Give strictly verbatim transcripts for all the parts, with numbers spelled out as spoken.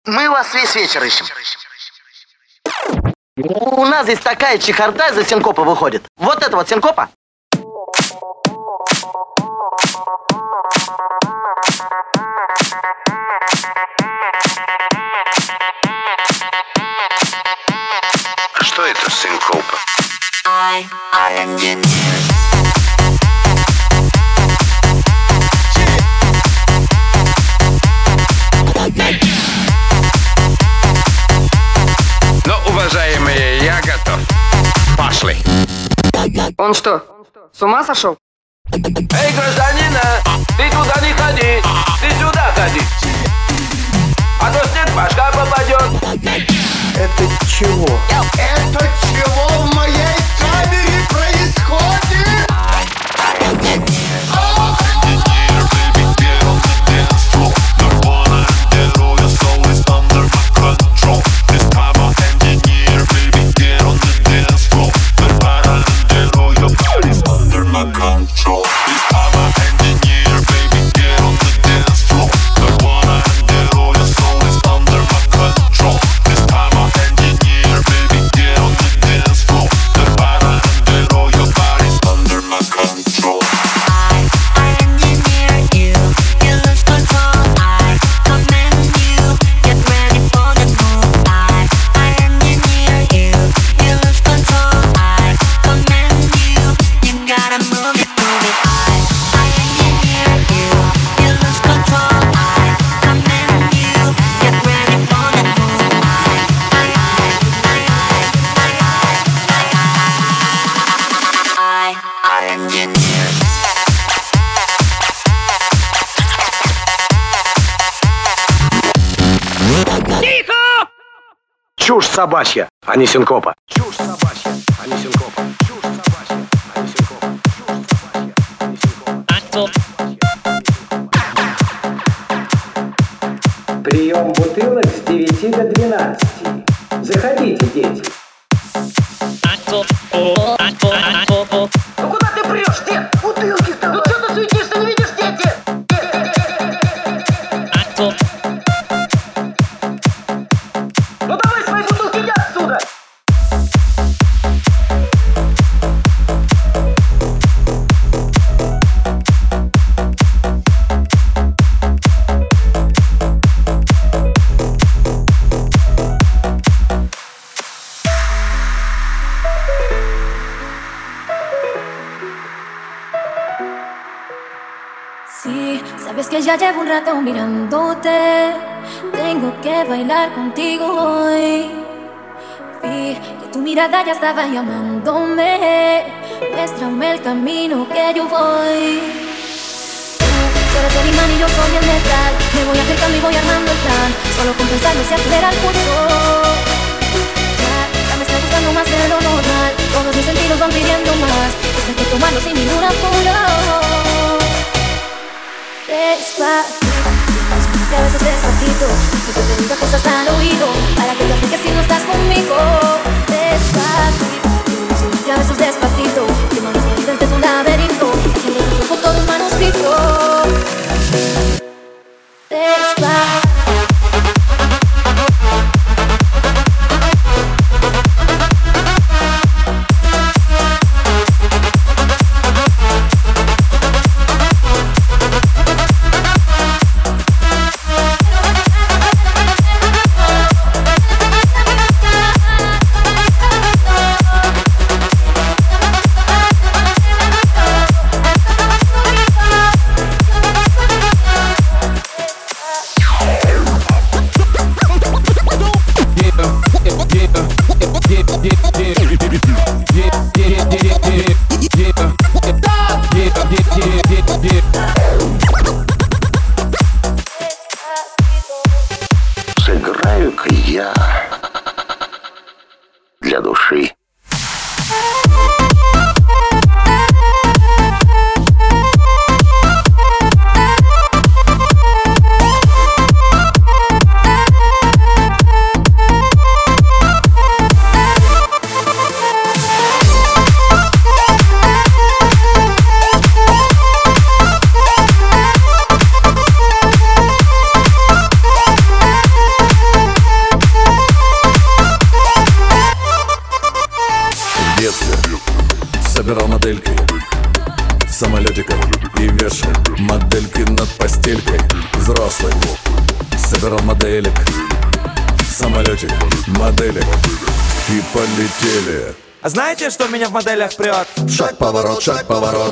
Мы вас весь вечер ищем. У нас здесь такая чехарда из-за синкопа выходит. Вот это вот синкопа. Что это синкопа? I, I engineer. Ну, уважаемые, я готов. Пошли. Он что, с ума сошел? Эй, гражданина, ты туда не ходи, ты сюда ходи. А то снег в башка попадет. Это чего? Это чего в моей камере происходит? Чушь собачья, а не синкопа. Чушь собачья, а не синкопа. Чушь собачья, а не синкопа. Чушь собачья, а не синкопа. Прием бутылок с девяти до двенадцати. Заходите, дети. Ну куда ты прешь, дед? Бутылки с тобой. Ну что ты суетишься, не видишь, дети? Ну давай свои бутылки, иди отсюда. Sí, sabes que ya llevo un rato mirándote. Tengo que bailar contigo hoy. Vi que tu mirada ya estaba llamándome. Muéstrame el camino que yo voy. Tú eres el imán y yo soy el metal. Me voy acercando y voy armando el plan. Solo con pensarlo se acelera el pulso. Ya, ya me está gustando más de lo normal. Todos mis sentidos van pidiendo más. Esto hay que tomarlo sin ningún apuro. Despacito, que a veces despacito, que te diga cosas al oído, para que te fijes si no estás conmigo. Despacito, que a veces despacito, que no las medidas de tu laberinto, que le dibujo todo un manuscrito. Despacito. Сыграю-ка я для души. Набирал моделек, самолетик, моделек, и полетели. А знаете, что меня в моделях прет? Шаг, поворот, шаг, поворот.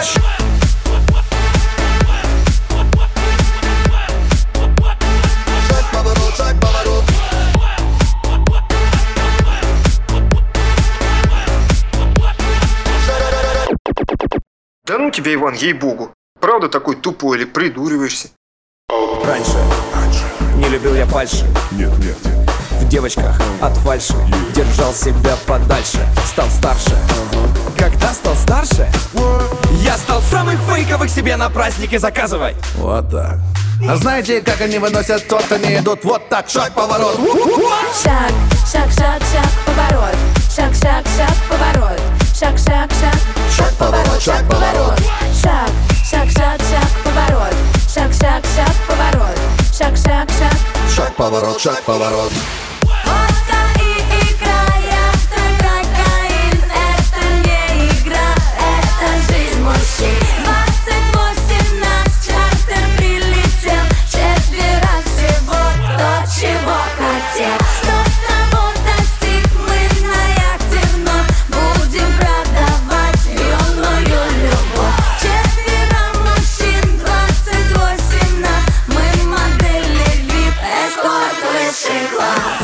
Да ну тебя, Иван, ей-богу. Правда такой тупой или придуриваешься? Раньше, Раньше. не любил я фальши. Нет, нет. В девочках от фальши держал себя подальше. Стал старше. Когда стал старше, я стал самых фейковых себе на праздники заказывать. Вот так. А знаете, как они выносят торт? Они идут вот так, шаг, поворот. Шаг, шаг, шаг, шаг, поворот. Шаг, шаг, шаг, поворот. Шаг, шаг, шаг, шаг, поворот, шаг, поворот. Шаг, шаг, шаг, шаг, поворот. Шаг, шаг, шаг, поворот. Шаг, шаг, шаг, шаг, поворот, шаг, поворот. Водка и игра, яхта, кокаин. Это не игра, это жизнь мужчин. Двадцать восемь нас чартер прилетел. Четверо всего то, чего хотел. Кто того достиг, мы на яхте вновь будем продавать юную любовь. Четверо мужчин, двадцать восемь нас. Мы модели вип, эскорт высший класс.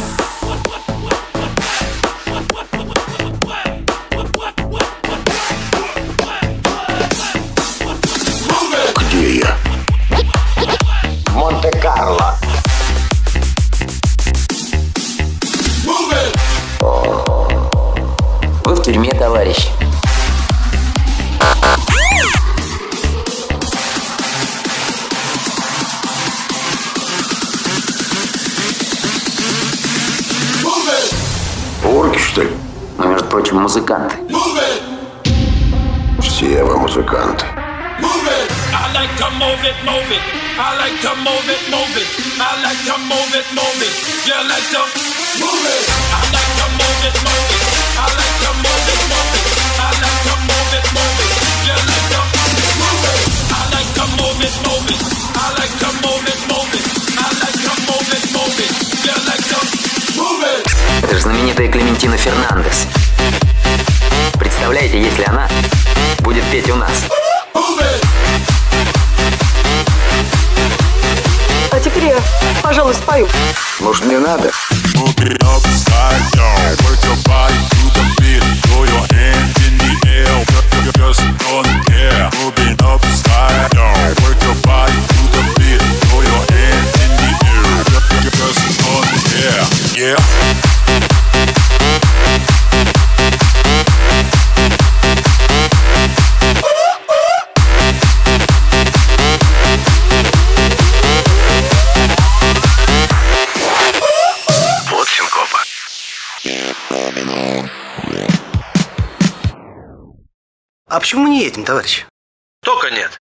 Где я? Монте-Карло. Вы в тюрьме, товарищ. Орки, что ли? Мы, между прочим, музыканты. Все вы музыканты. I like to move it, move it. I like to move it, move it. I like to move it, move it. You like to move it. I like to move it, move it. I like to move it, move it. I like to move it, move it. You like to move it. I like to move it, move it. I like to move it, move it. I like to move it, move it. You like to move it. Это же знаменитая Клементина Фернандес. Представляете, если она будет петь у нас? А теперь я, пожалуй, спою. Может, не надо? Yeah. Вот синкопа. А почему мы не едем, товарищ? Только нет.